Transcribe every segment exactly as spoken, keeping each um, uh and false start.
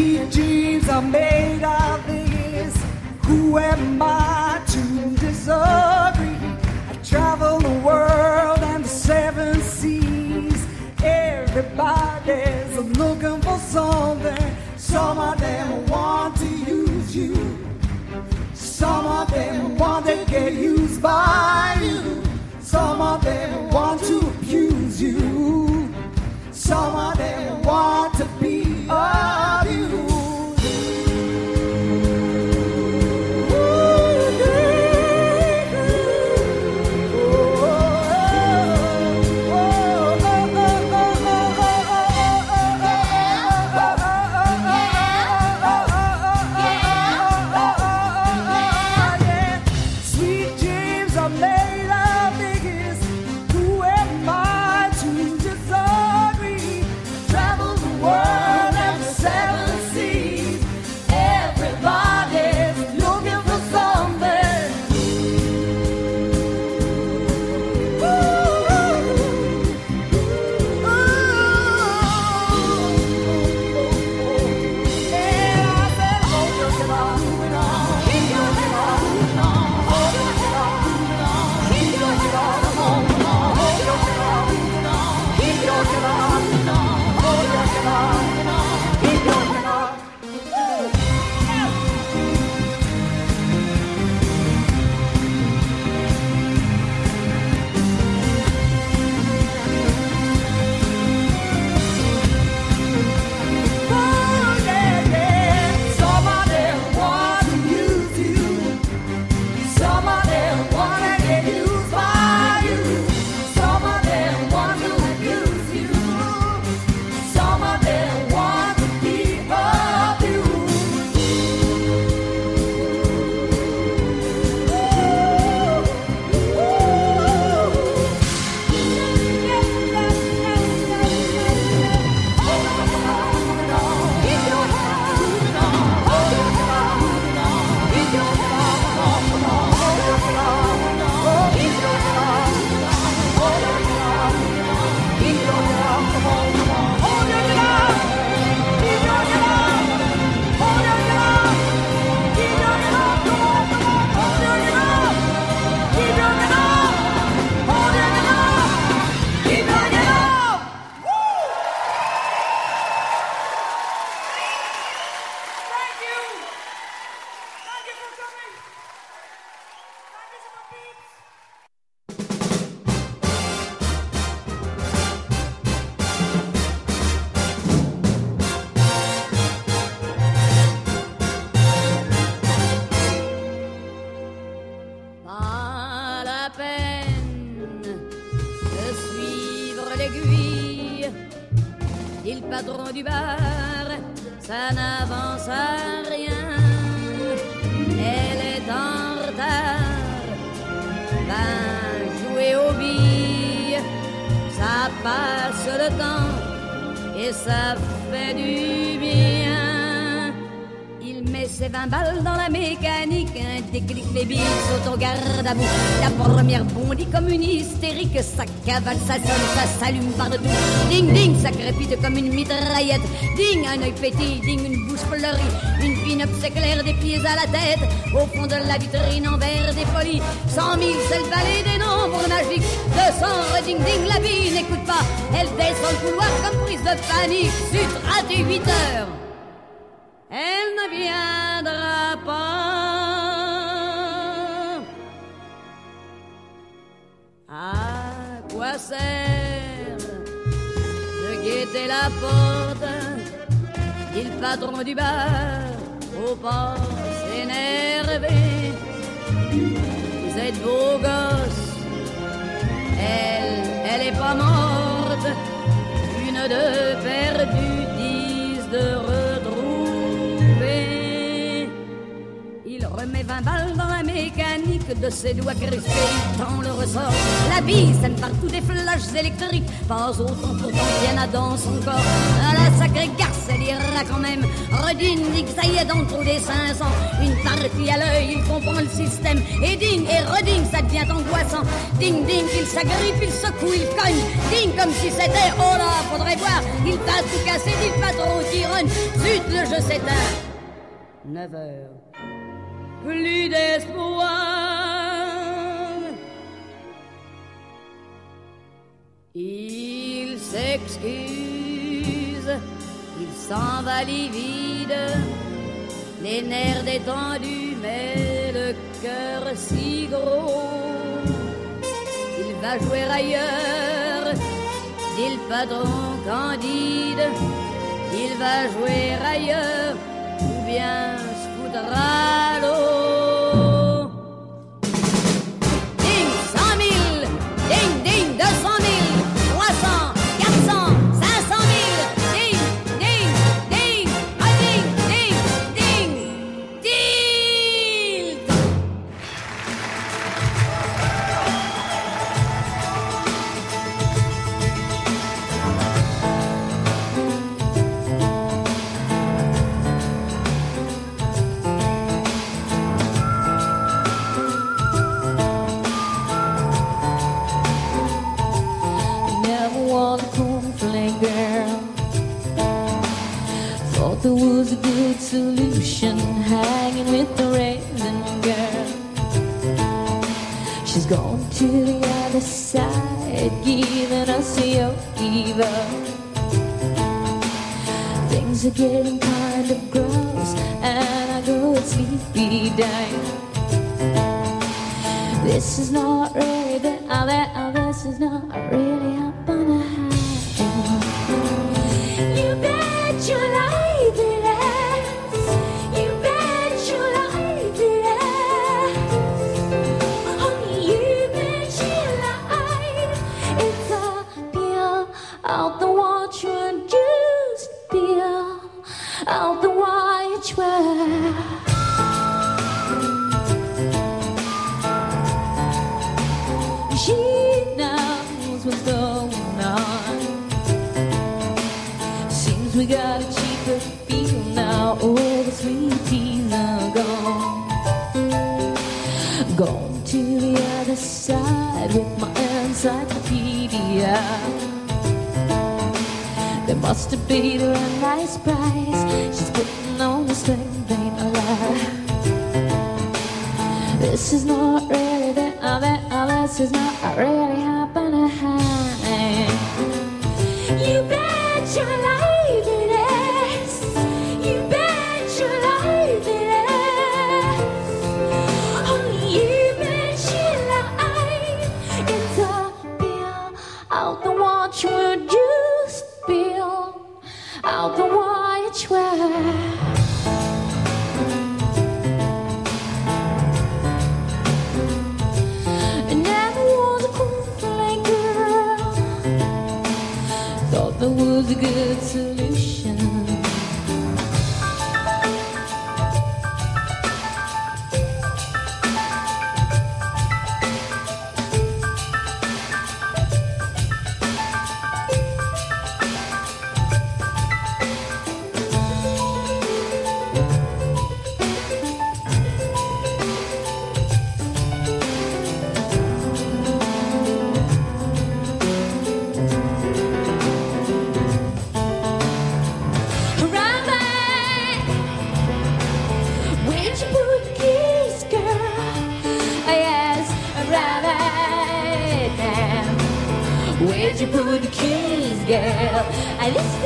Sweet dreams are made of this. Who am I to disagree? I travel the world and the seven seas. Everybody's looking for something. Some of them want to use you. Some of them want to get used by you. Some of them want to abuse you. Some of them want to be of you. La première bondit comme une hystérique, ça cavale, ça sonne, ça s'allume partout. Ding ding, ça crépite comme une mitraillette. Ding, un œil pétille, ding, une bouche fleurie. Une pin-up s'éclaire des pieds à la tête. Au fond de la vitrine en verre dépoli, cent mille, c'est le balai des nombres magiques. deux cents, ding ding, la bille n'écoute pas. Elle descend le couloir comme prise de panique. Zut, raté huit heures. Elle ne viendra pas. À quoi sert de guetter la porte? Dit le patron du bar, faut pas s'énerver. Vous êtes beaux gosses, elle, elle est pas morte. Une de perdue, dix de retrouver. Il remet vingt balles dans la mécanique de ses doigts crispés, il tend le ressort. La bille scène partout des flashs électriques, pas autant pourtant qu'il y en a dans son corps. À la sacrée garce, elle ira quand même. Redine dit que ça y est dans le trou des cinq cents. Une partie à l'œil, il comprend le système. Et ding, et reding, ça devient angoissant. Ding, ding, il s'agrippe, il secoue, il cogne. Ding, comme si c'était, oh là, faudrait voir. Il va tout casser, dit le patron qui rogne. Zut, le l'horloge s'éteint. Neuf heures. Plus d'espoir. Il s'excuse, il s'en va livide, les nerfs détendus, mais le cœur si gros. Il va jouer ailleurs, dit le patron candide. Il va jouer ailleurs, ou bien se foutre à l'eau. Ding, cent mille, ding, ding, deux cent mille, trois cents, quatre cents, cinq cent mille, ding, ding, ding, ah, ding, ding, ding, ding. There was a good solution hanging with the raisin girl. She's gone to the other side, giving us a yo-giver. Things are getting kind of gross, and I go sleepy down. This is not really the other, this is not really happening. You bet your life. Out the watch and just beer, out the watch where she knows what's going on. Seems we got a cheaper feel now, all the sweet teas are gone. Gone to the other side with my encyclopedia. They must have paid her a nice price. She's putting on the strength ain't a lie. This is not really the other, this is not really happening. You bet your life it is. You bet your life it is. Only you bet your life. It's a bill out the watch where juice bill out the watch where. There was a good solution. Where'd you put the keys, girl? I this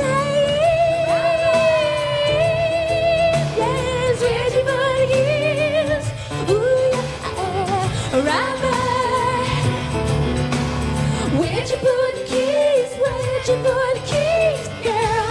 yes, where'd you put the keys? Ooh, yeah, right back. Where'd you put the keys? Where'd you put the keys, girl?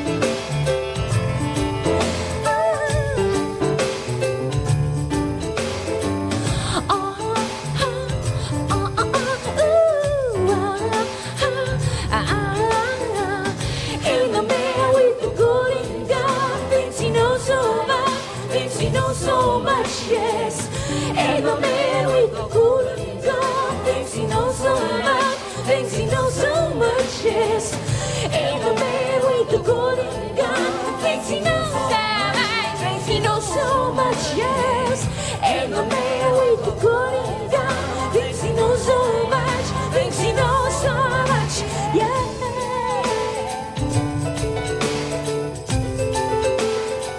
So much, yes. And the man with the golden gun thinks he knows so much, thinks he knows so much, yes. And the man with the golden gun thinks he knows so much, thinks he knows so much, yes. And the man with the golden gun thinks he knows so much, thinks he knows so much, yes.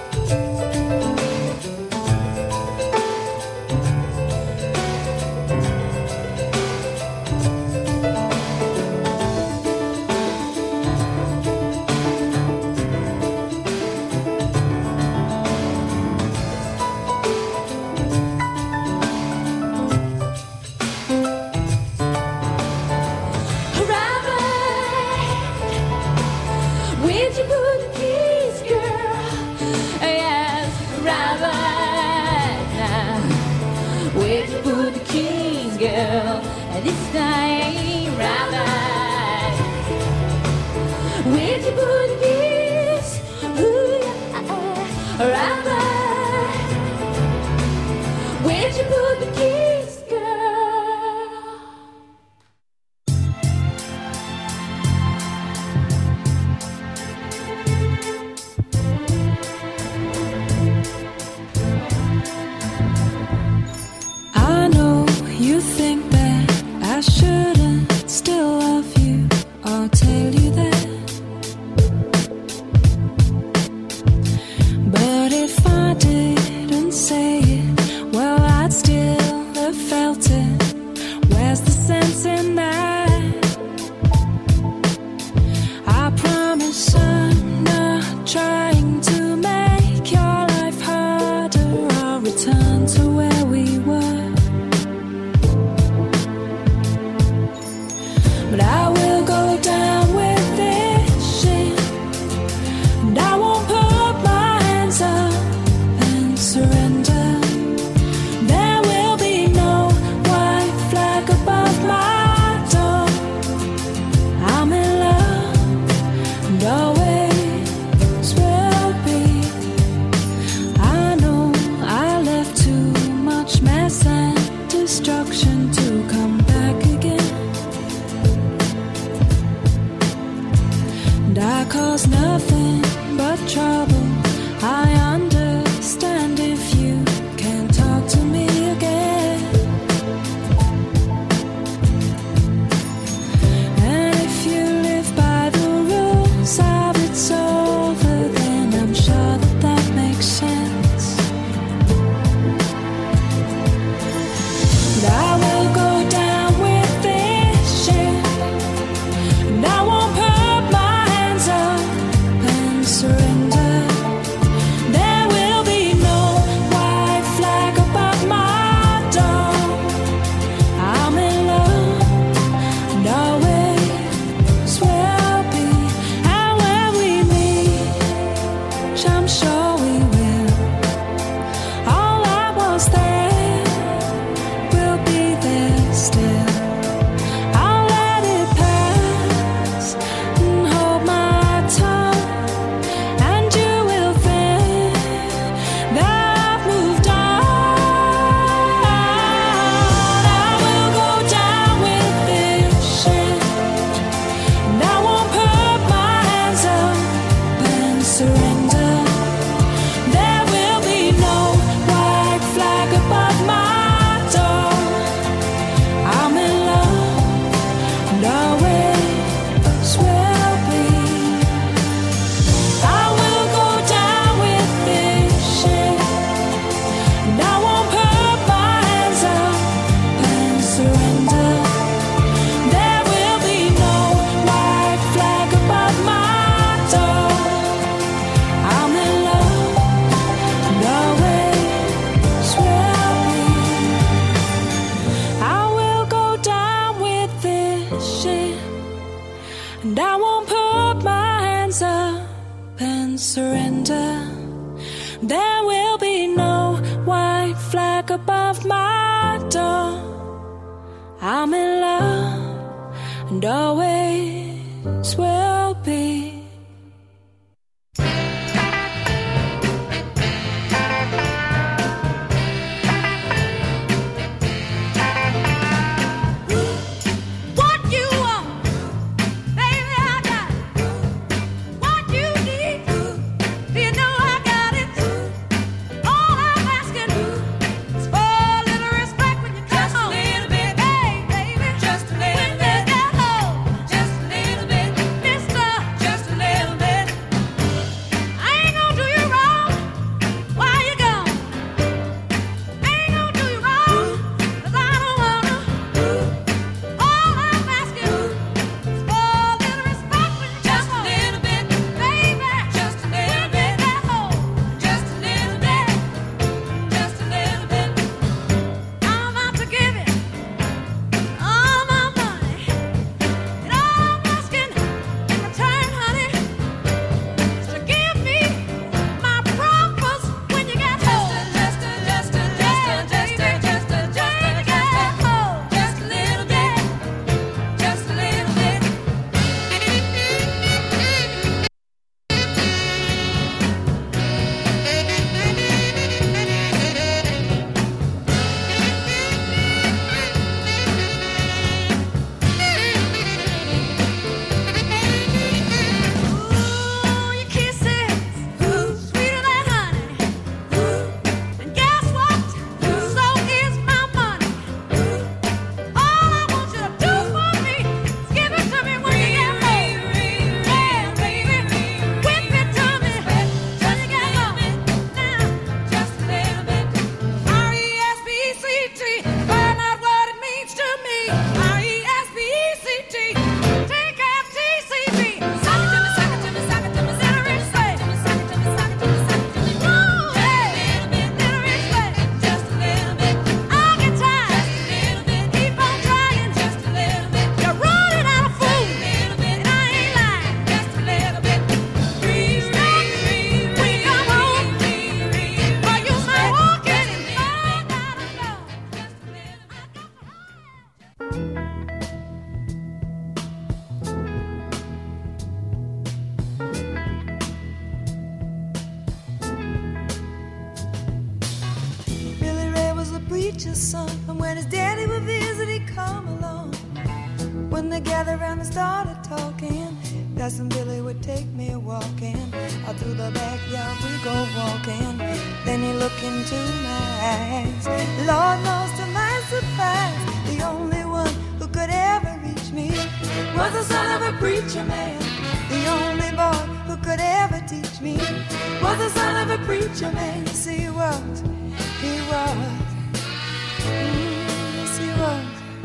girl, this time ain't right. Where'd you put the keys? Ooh, yeah, right. Where'd you put the keys, girl? I know you think that I shouldn't still love you. I'll tell you that. But if I didn't say it, well, I'd still have felt it. Where's the sense in that? I promise I'm not trying to make your life harder. I'll return to where we were. But I will go down with this shit, and I won't put my hands up and surrender. There will be no white flag above my door. I'm in love, and always will be. I know I left too much mess and destruction to come back again. And I cause nothing but trouble. I understand if you can't talk to me again. And if you live by the rules of it's over, then I'm sure that that makes sense. But I will go down with this shit, and I won't put my hands up and surrender. There will be no white flag above my door. I'm in love, and always will be. And when we meet, which I'm sure we will, all that was there will be there still. I'll let it pass and hold my tongue, and you will think that I've moved on. I will go down with this shit, and I won't put my hands up and surrender. There will be no white flag above my door. I'm in love, and always will be. I will go down with this shit, and I won't put my hands up and surrender. There will be no white flag above my door. I'm in love, and always will be. I will go down with this shit, and I won't put my hands up and surrender. There will be no white flag above my door. I'm in love, and always will be. What you want, baby, I got it. What you need, you know I got it. All I'm asking is for a little respect when you come home. Just a little bit, hey, baby. Just a little bit. When you get home, just a little bit. Miss preacher's son. And when his daddy would visit, he'd come along. When they gathered around and started talking, Cousin Billy would take me walking. Out through the backyard we go walking. Then he looked into my eyes. Lord knows to my surprise, the only one who could ever reach me was the son of a preacher man. The only boy who could ever teach me was the son of a preacher man. Yes, he was, he was, mm, yes, he was.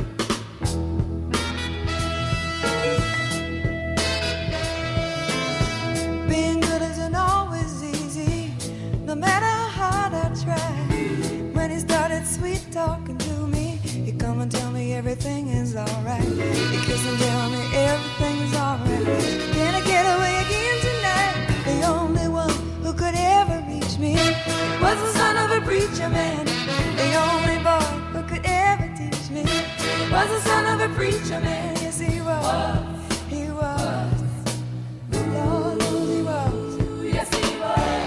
Being good isn't always easy, no matter how hard I try. When he started sweet talking to me, he'd come and tell me everything is alright. He'd kiss and tell me everything is alright. Can I get away again tonight? The only one who could ever reach me was the son of a preacher man. The only boy who could ever teach me was the son of a preacher man. Yes, he was, he was. Lord knows he was. Yes, he was.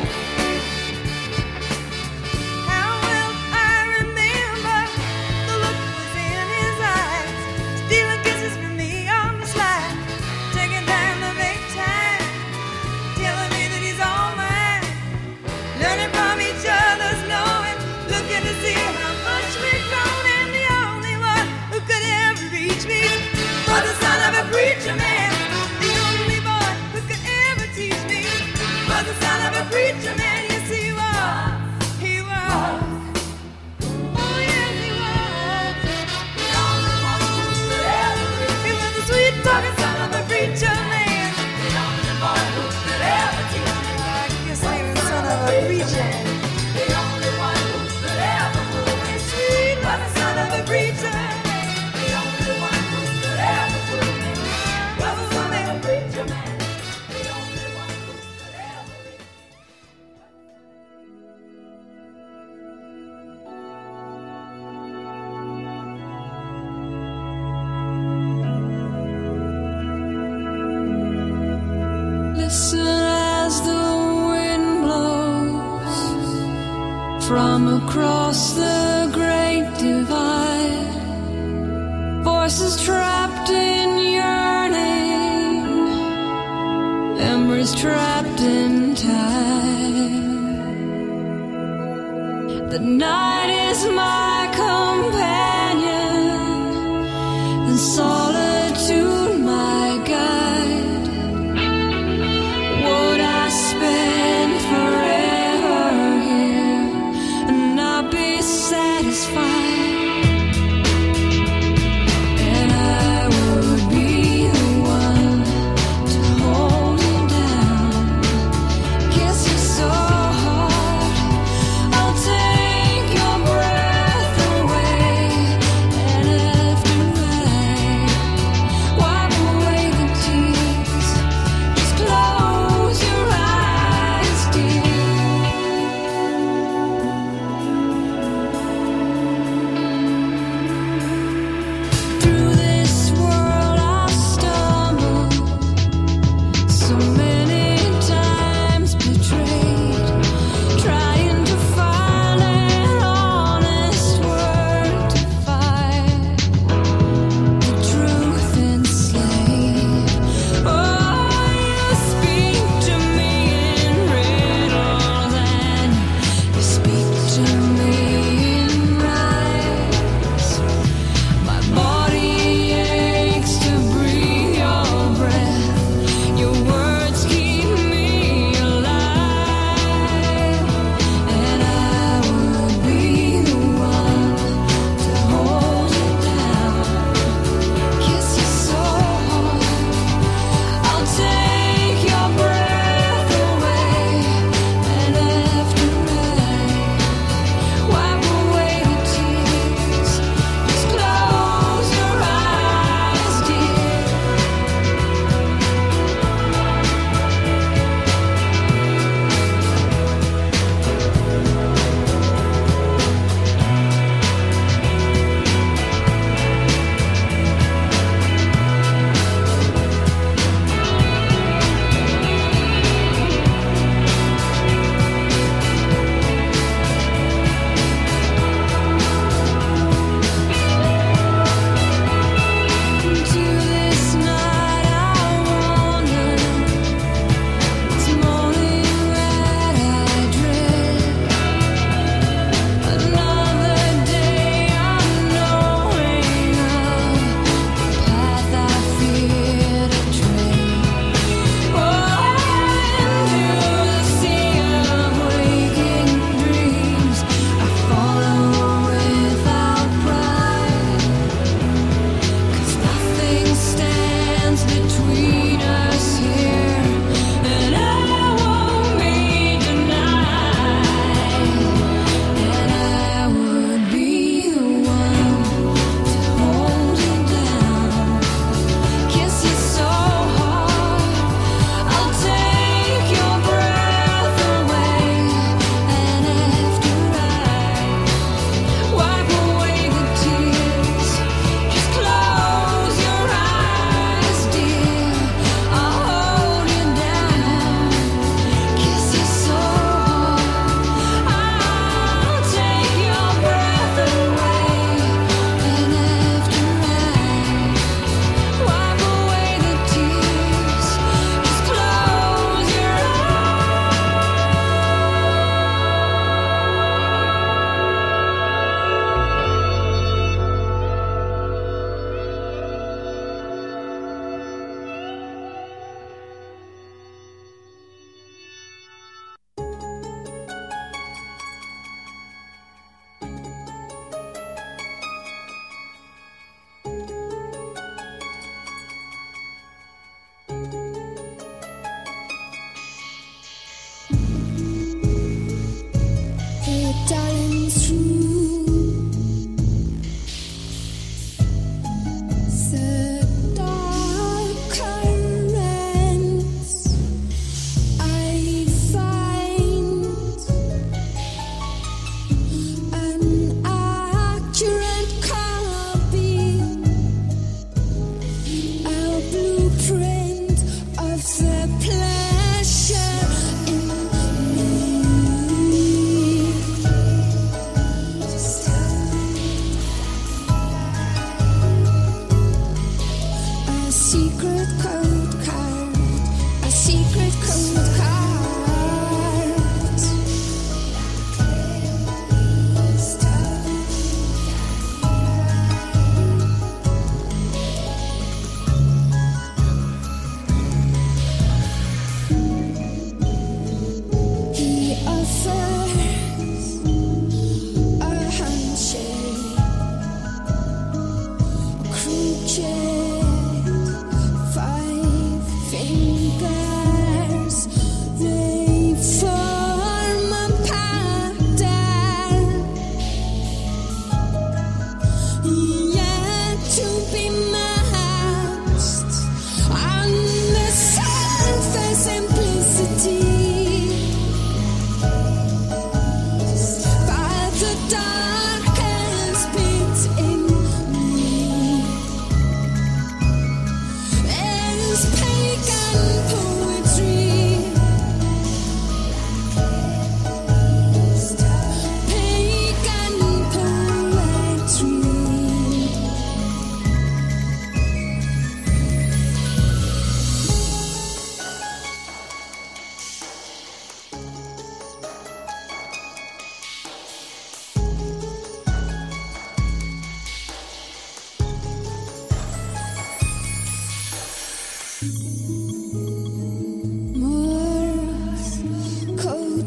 How well I remember the look was in his eyes, stealing kisses from me on the slide, taking time to make time, telling me that he's all mine, learning from each other's knowing, looking to see how much we've grown. And the only one who could ever reach me was the son of a preacher man. The only boy who could ever teach me was the son of a preacher man. Yes, he was, he was. Oh, yes, he was. The only one who could ever reach me. He was the sweet talking son of a preacher man. The only boy who could ever teach me. I guess he was the son of a preacher. The only one who could ever fool me. Sweet was the son of a preacher. The only one who could ever fool me was the son of a preacher man. The only one who could ever reach me. Listen as the wind blows from across the great divide. Voices trapped in yearning, memories trapped in time. The night is my companion, and solitude my guide. Would I spend forever here and not be satisfied? And I would be the one to hold you down, kiss you so hard, I'll take your breath away. And after I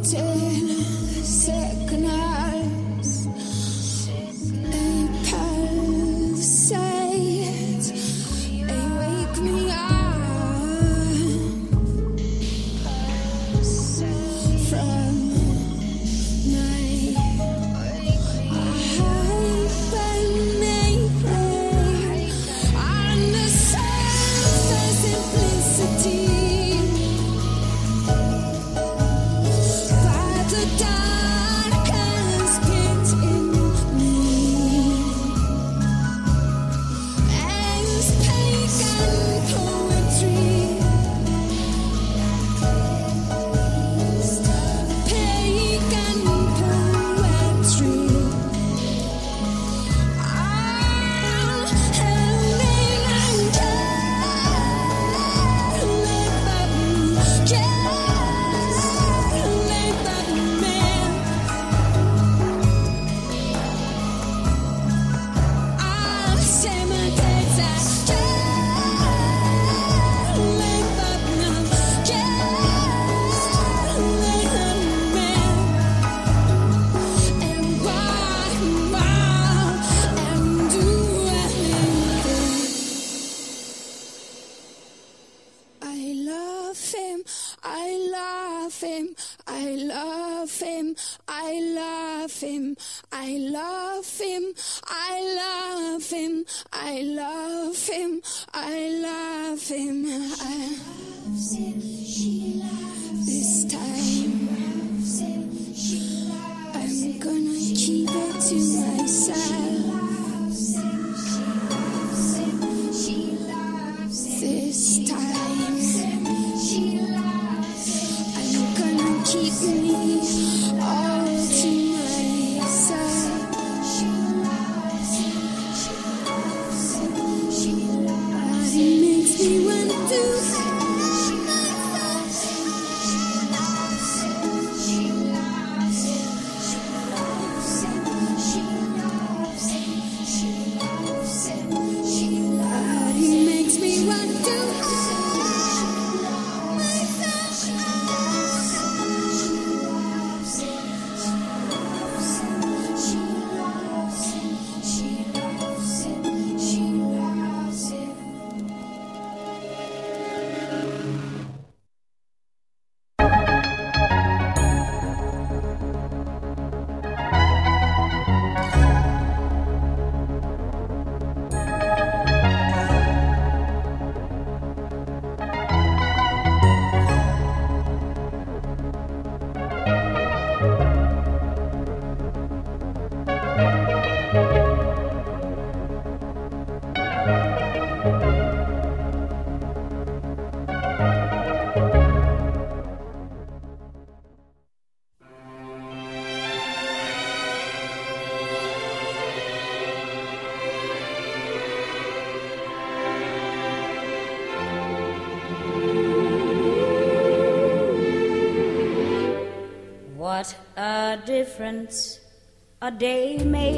What a difference a day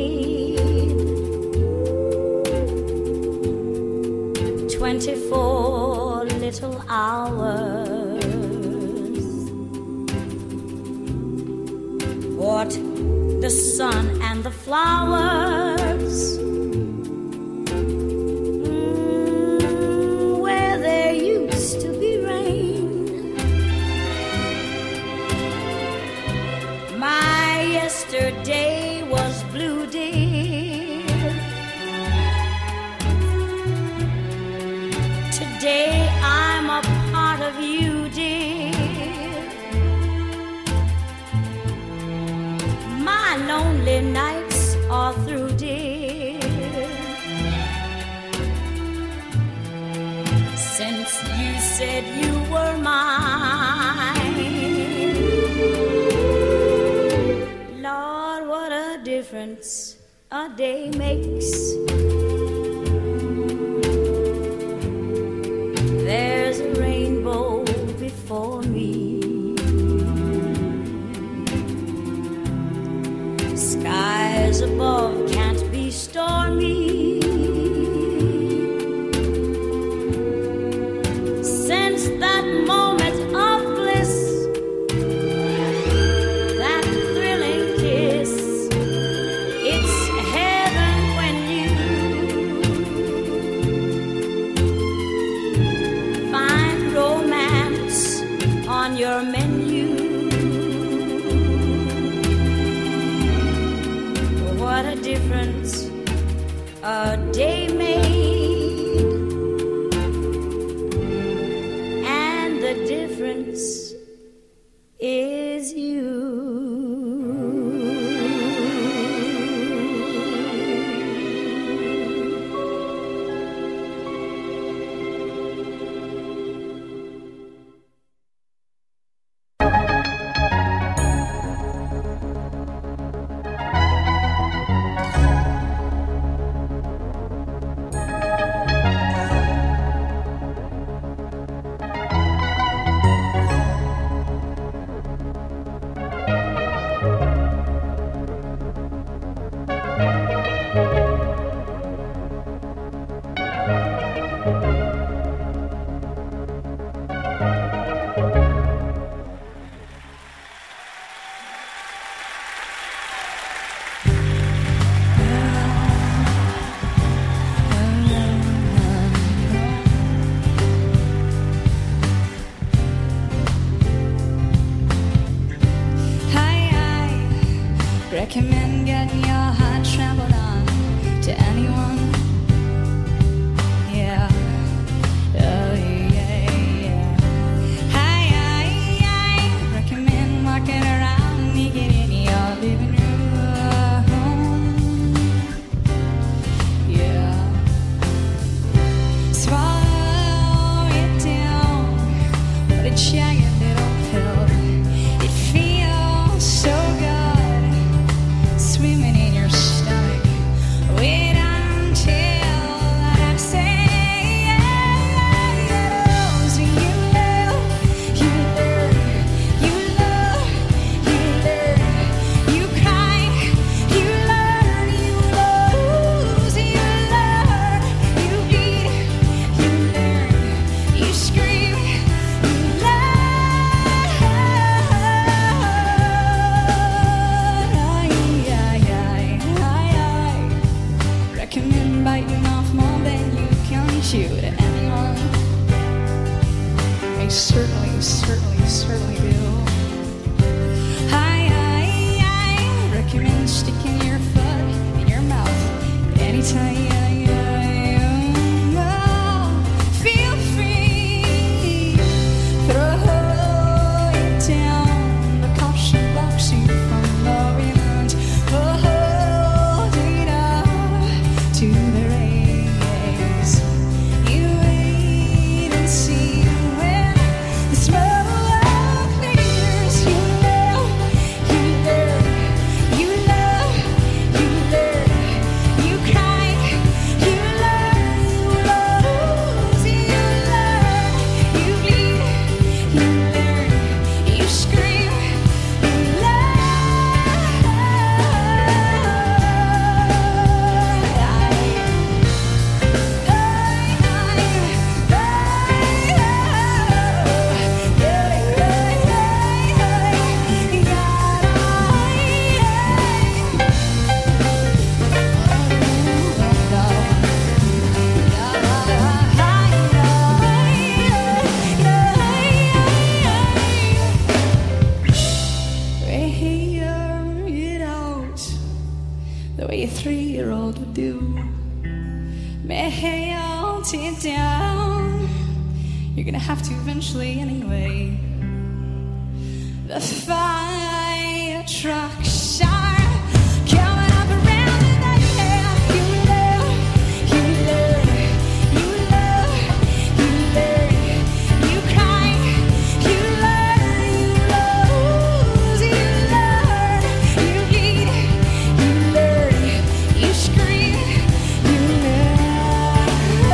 made. Twenty-four little hours. What the sun and the flowers. Mm, where there used to be rain. My yesterday was blue, dear. Today I'm a part of you, dear. My lonely nights are through, dear. Since you said you were mine. Lord, what a difference a day makes. There's a rainbow before me. Skies above can't be stormy. Since that moment of bliss, recommend getting your heart trampled on to anyone. Yeah. Oh, yeah, yeah. I, I, I recommend walking around naked in your living room. Yeah. Swallow it down, what a giant little pill. It feels so good, swimming in your stomach. Wait until I say yes. You love, you learn, you love, you learn, you cry, you learn, you lose, you learn, you bleed, you learn, you scream, you learn. I recommend biting off more than you can chew to anyone. I certainly, certainly, certainly do. I, I, I recommend sticking your foot in your mouth anytime. Feel free, throw it down. The caution blocks you from loving and hold it up to the rays. You wait and see when the smoke clears. You love, you learn, you love, you learn, you cry, you learn, you lose, you learn, you bleed, you learn, you scream, you Figure it out the way a three-year-old would do. Melt it down. You're gonna have to eventually anyway. The fire trucks are coming up around in the air. You love, you learn, you love, you learn, you cry, you learn, you lose, you learn, you bleed, you learn, you scream, you learn.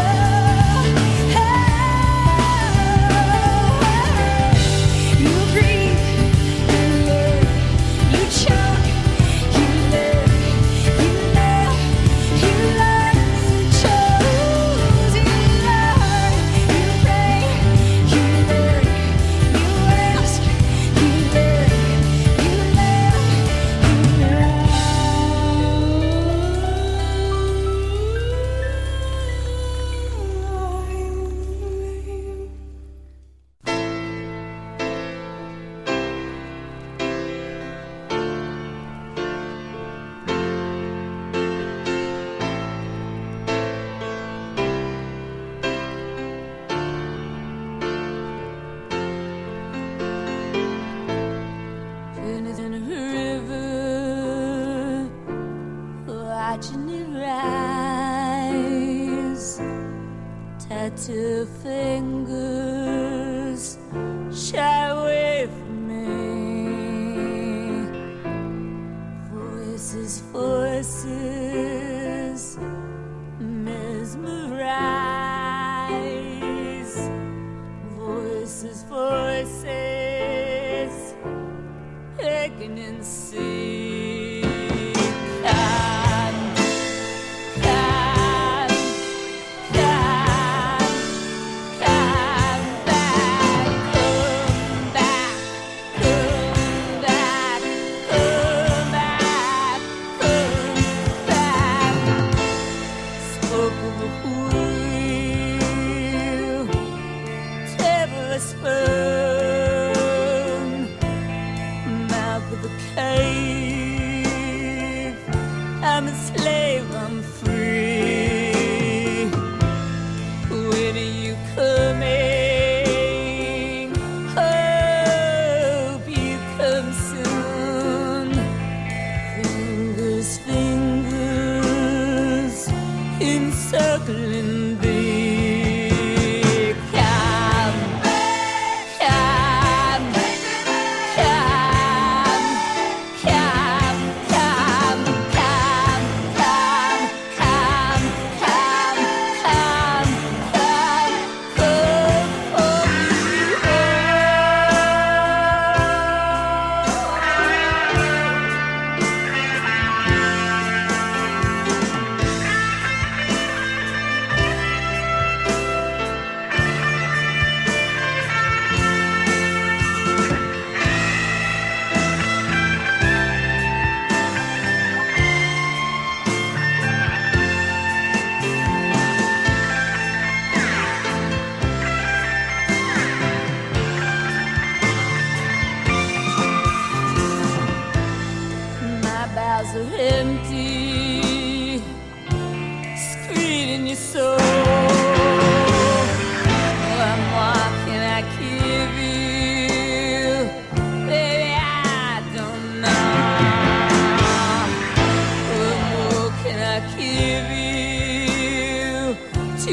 You breathe, you learn, you choke, you learn, you love, you learn, you choose, you learn, you pray, you learn, you ask, you learn, you live, you learn. In a river, watching it rise. Tattoo fingers shy away from me. Voices, voices mesmerize. Voices, voices aching and see. Come, come, come, come back, come back, come back, come back, come back. Spoke of a wheel, table a spoon, mouth of a cave. I'm a slave, I'm free. When are you coming? Hope you come soon. Fingers, fingers encircling thee. Come, come, come, come, come, come, come, come, come, come, come, come for me. My bowels are empty, screening your soul. What more can I give you? Baby, I don't know. What more can I give you to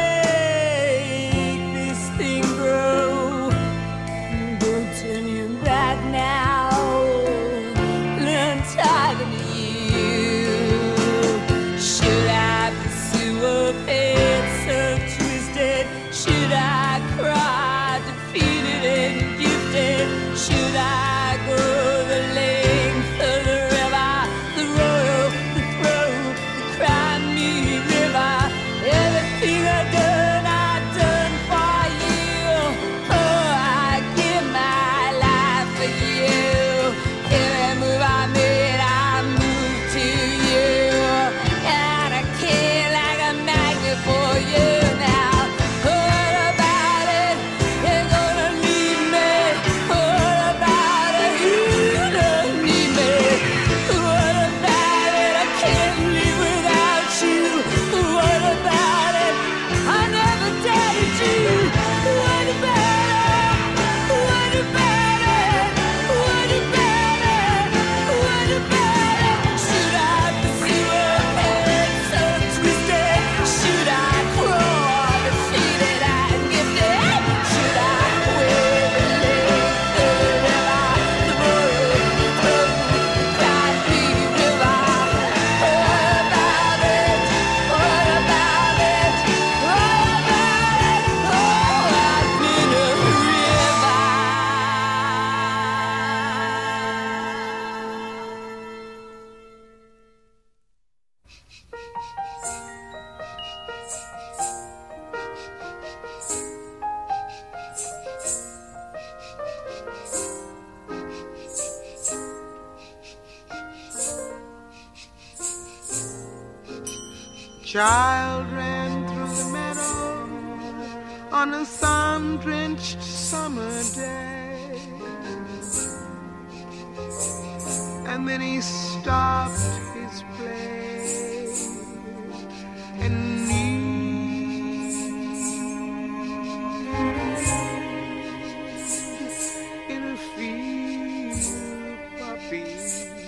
make this thing grow? Don't turn your back now. Learn tired of you. Should I pursue a fate so twisted? Should I cry defeated and gifted? Should I go the length of the river, the royal, the throne, the Crimea River? Everything I've done, I've done for you. Oh, I give my life for you. Every move I made, I moved to you. And I care like a magnet for you now. What about it? You're gonna leave me. What about it? You don't need me. What about it? I can't live without you. What about it? I never doubted you. What about it? What about it? What about it? What about it? Should I pursue a head so twisted? Should I crawl defeated and gifted? Should I wave the length of the river, the royal throne, the Crimea River? What about it? What about it? What about it? Oh, I've been a river. Child ran through the meadow on a sun-drenched summer day, and then he stopped his play and kneeled in a field of poppies.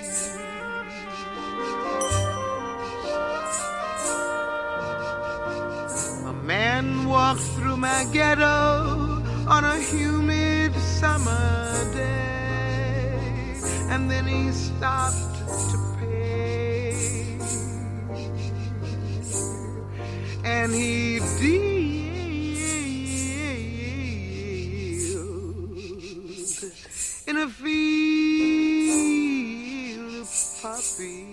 A man walked through my ghetto on a humid summer day, and then he stopped to pay, and he dealed in a field of poppies.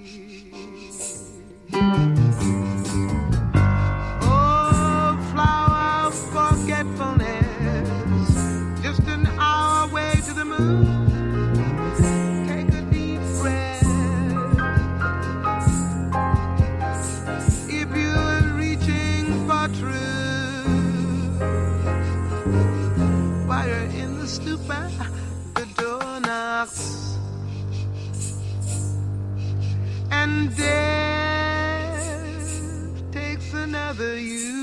Just an hour away to the moon. Take a deep breath. If you're reaching for truth, and death takes another you.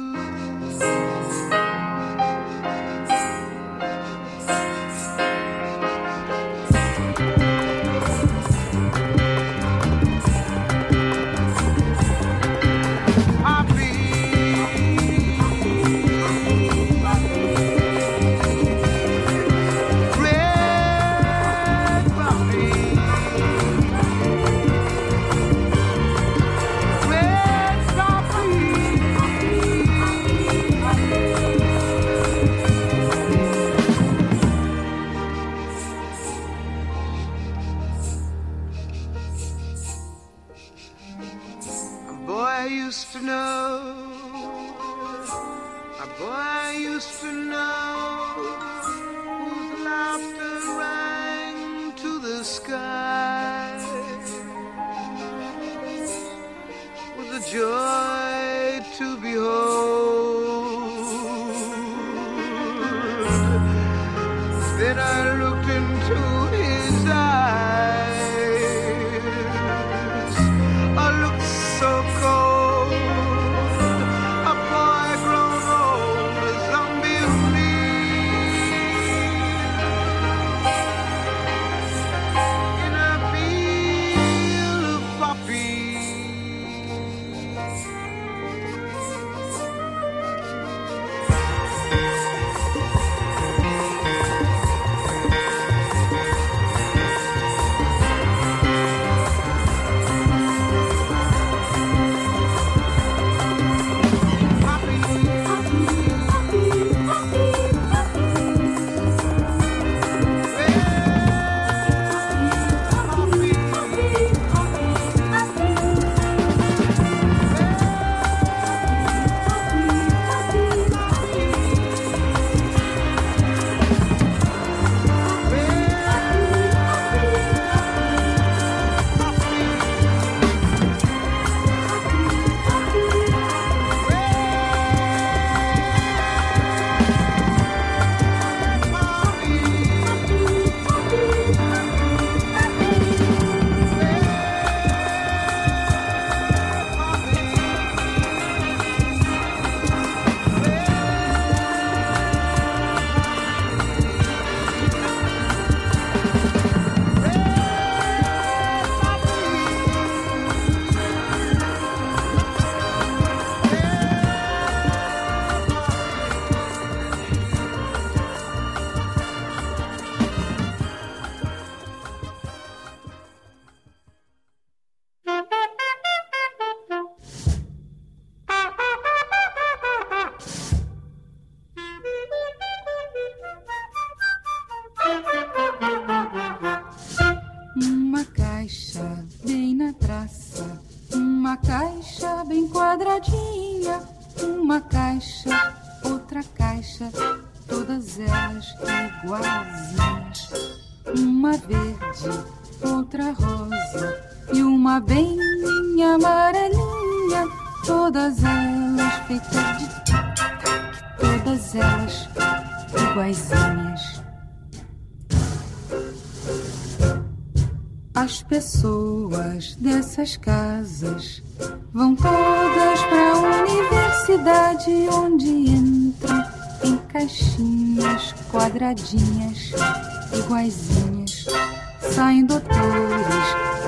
As pessoas dessas casas vão todas pra universidade, onde entram em caixinhas quadradinhas, iguaizinhas. Saem doutores,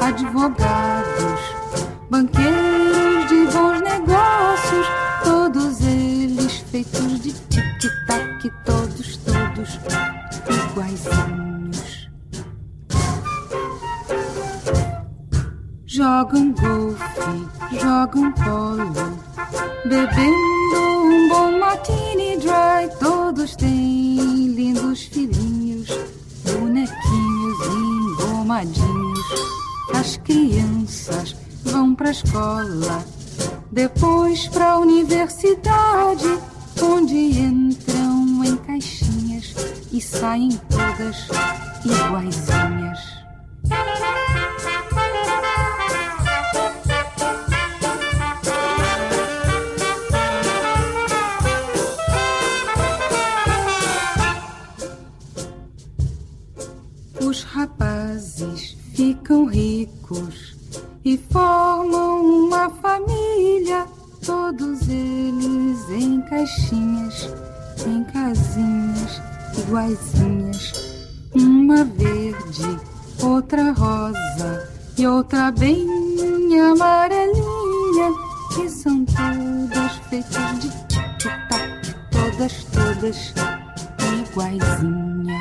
advogados, banqueiros de bons negócios, todos eles feitos de tic-tac, todos, todos iguaizinhos. Jogam golfe, jogam polo, bebendo um bom martini dry. Todos têm lindos filhinhos, bonequinhos engomadinhos. As crianças vão pra escola, depois pra universidade, onde entram em caixinhas e saem todas iguaizinhas. Os rapazes ficam ricos e formam uma família, todos eles em caixinhas, em casinhas iguaizinhas, uma verde, outra rosa e outra bem amarelinha, que são todas feitas de tic-tac, todas, todas iguaizinhas.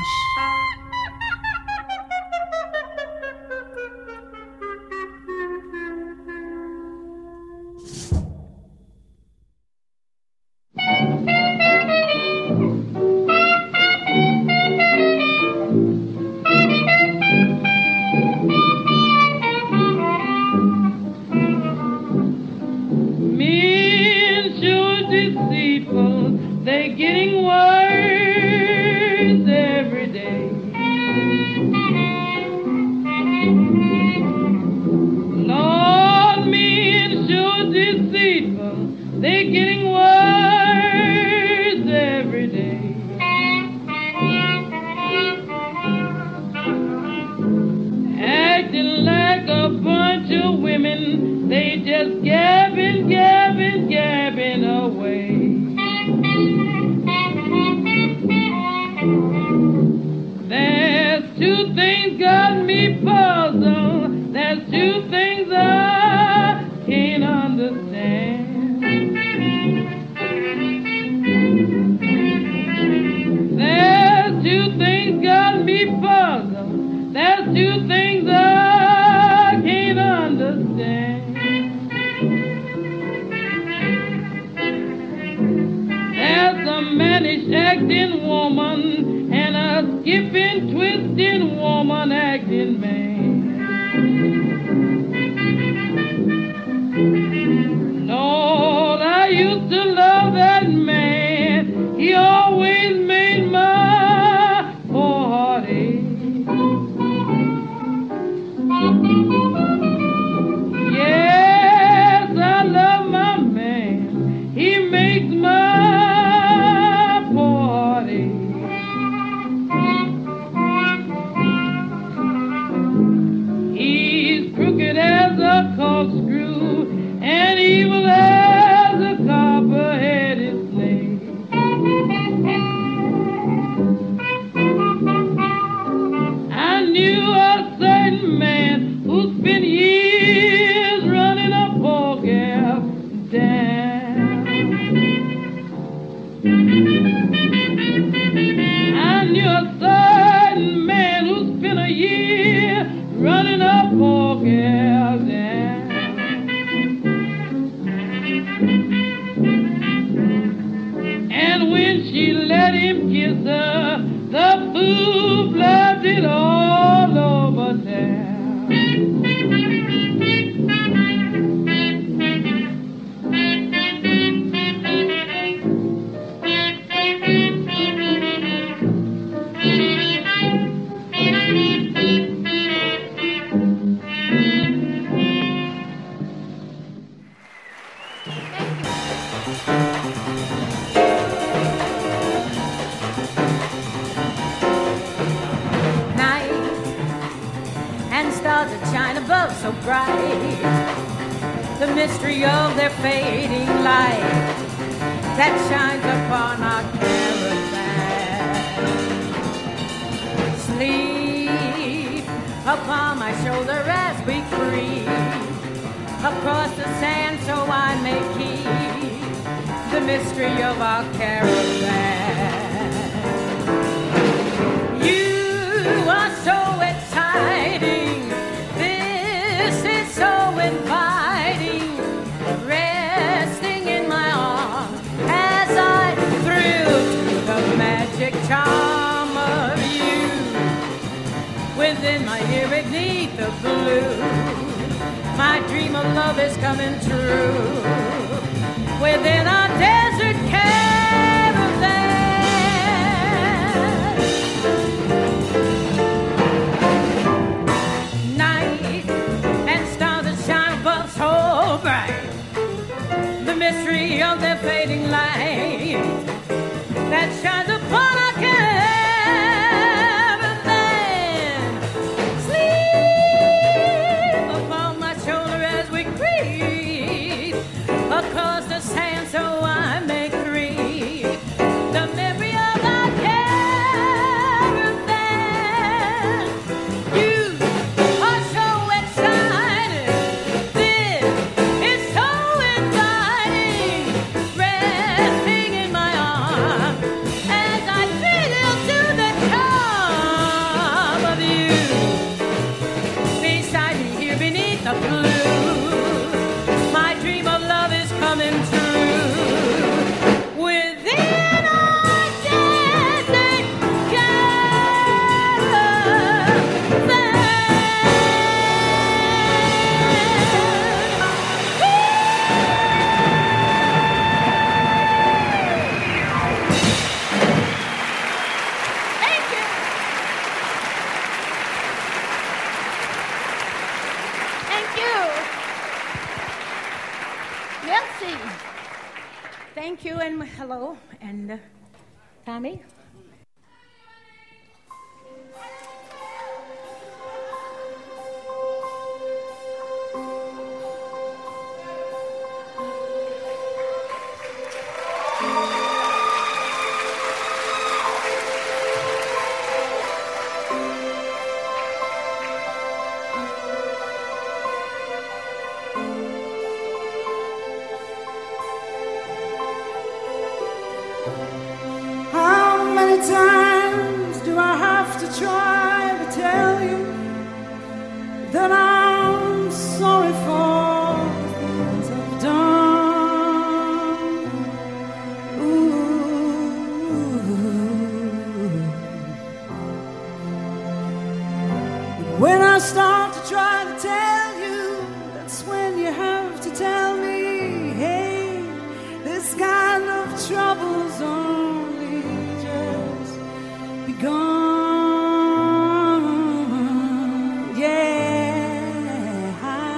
Shoulder Merci. Thank you and hello. And uh, Tommy? How many times do I have to try to tell you that I'm sorry for the things I've done? Ooh. But when I start to try to tell you, that's when you have to tell me, hey, this kind of trouble's only just begun. Yeah,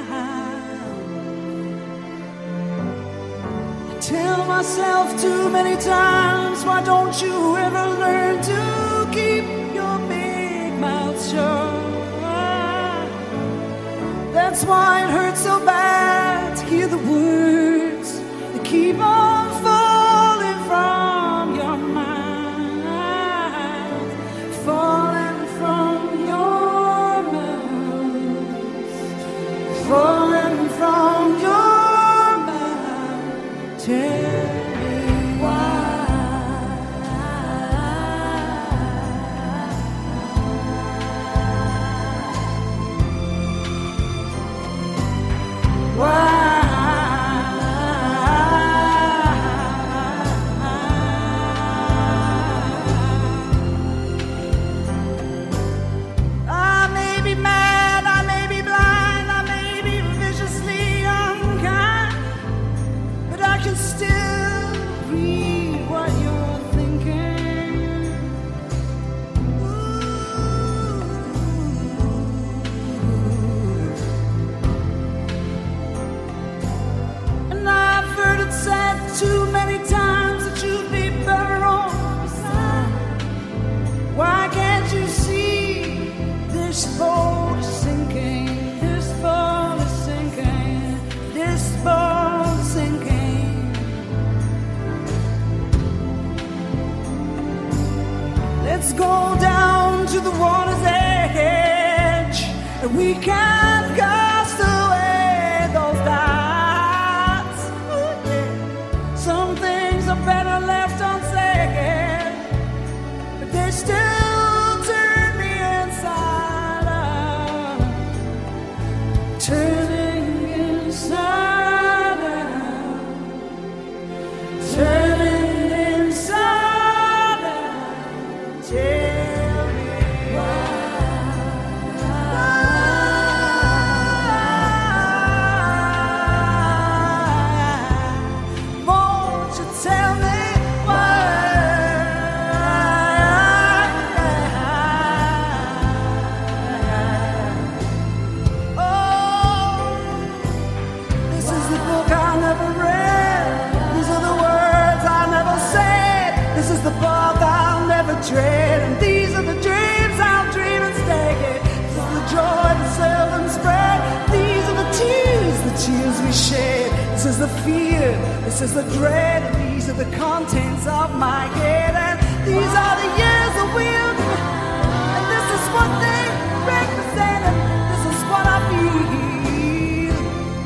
I tell myself too many times, why don't you ever learn to keep your big mouth shut? That's why it hurts so bad to hear the words that keep on falling from your mind, falling from your mouth, falling from your mouth. Tell me why. I may be mad, I may be blind, I may be viciously unkind, but I can still read what you're thinking. And I've heard it said too many times that you'd be better off beside. Why can't you see this boat is sinking? This boat is sinking. This boat is sinking. Let's go down to the water's edge, and we can cast away those doubts. Ooh, yeah. Some things are better left unsaid, but they still turn me inside out, turning inside out, turning inside out. Tell me why. Won't you tell me why? Oh, this is the book I never read. These are the words I never said. This is the path I'll never tread. And these are the dreams I'll dream instead. This is the joy that seldom spread. These are the tears, the tears we shed. This is the fear, this is the dread. And these are the contents of my head. And these are the years of wilderness. And this is what they represent. And this is what I feel.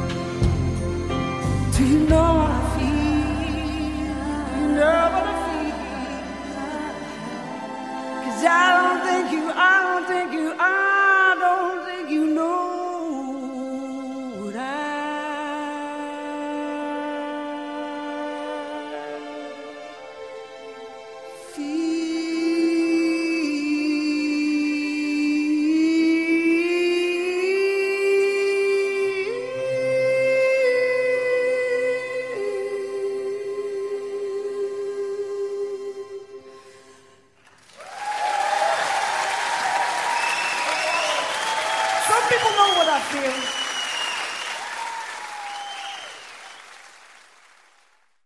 Do you know what I feel? You know what I feel. 'Cause I don't think you, I don't think you, I don't think you know what I Some people know what I feel.